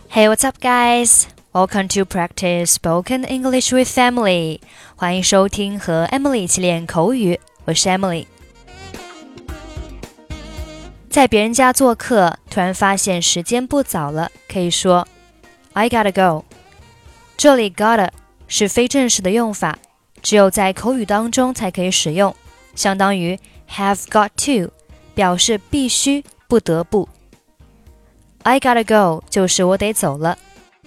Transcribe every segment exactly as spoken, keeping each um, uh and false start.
Hey, what's up, guys? Welcome to practice spoken English with Emily. 欢迎收听和 Emily 一起练口语，我是 Emily。在别人家做客，突然发现时间不早了，可以说 I gotta go。这里 gotta 是非正式的用法，只有在口语当中才可以使用，相当于 have got to， 表示必须、不得不。I gotta go 就是我得走了。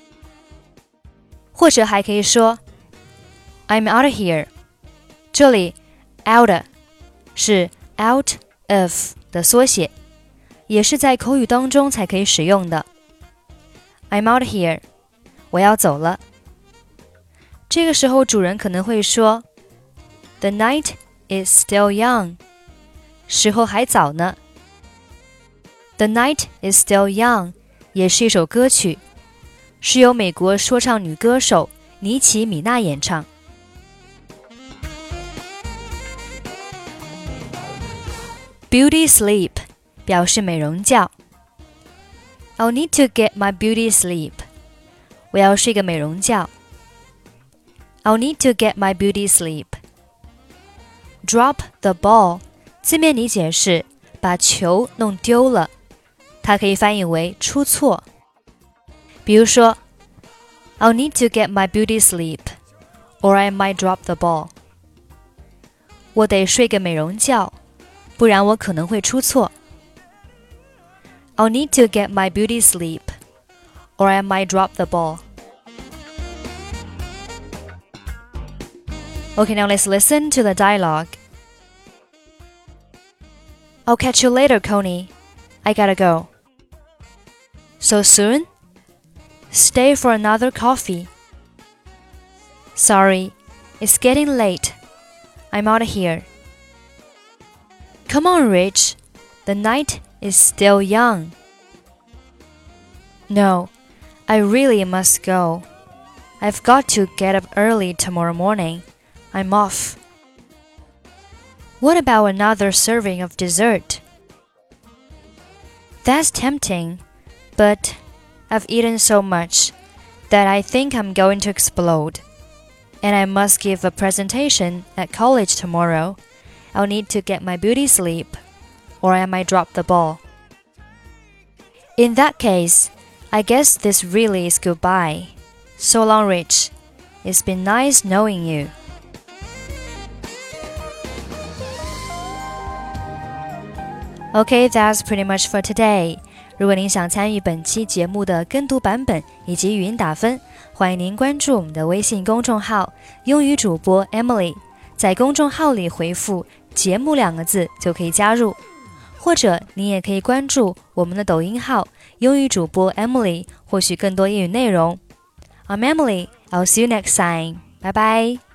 或者还可以说 I'm out of here。 这里 out 是 out of 的缩写，也是在口语当中才可以使用的。 I'm out of here， 我要走了。这个时候主人可能会说 The night is still young， 时候还早呢。The night is still young 也是一首歌曲，是由美国说唱女歌手妮奇·米娜演唱。Beauty sleep 表示美容觉。I'll need to get my beauty sleep， 我要睡个美容觉。I'll need to get my beauty sleep。 Drop the ball 字面理解是把球弄丢了，它可以翻译为出错。比如说 I'll need to get my beauty sleep or I might drop the ball。 我得睡个美容觉，不然我可能会出错。 I'll need to get my beauty sleep or I might drop the ball。 Okay, now let's listen to the dialogue. I'll catch you later, Connie. I gotta go. So soon? Stay for another coffee. Sorry, it's getting late. I'm out of here. Come on, Rich. The night is still young. No, I really must go. I've got to get up early tomorrow morning. I'm off. What about another serving of dessert? That's tempting, but I've eaten so much that I think I'm going to explode. And I must give a presentation at college tomorrow. I'll need to get my beauty sleep, or I might drop the ball. In that case, I guess this really is goodbye. So long, Rich. It's been nice knowing you. Okay, that's pretty much for today. 如果您想参与本期节目的跟读版本以及语音打分，欢迎您关注我们的微信公众号英语主播 Emily， 在公众号里回复节目两个字就可以加入，或者您也可以关注我们的抖音号英语主播 Emily， 获取更多英语内容。I'm Emily, I'll see you next time. Bye bye.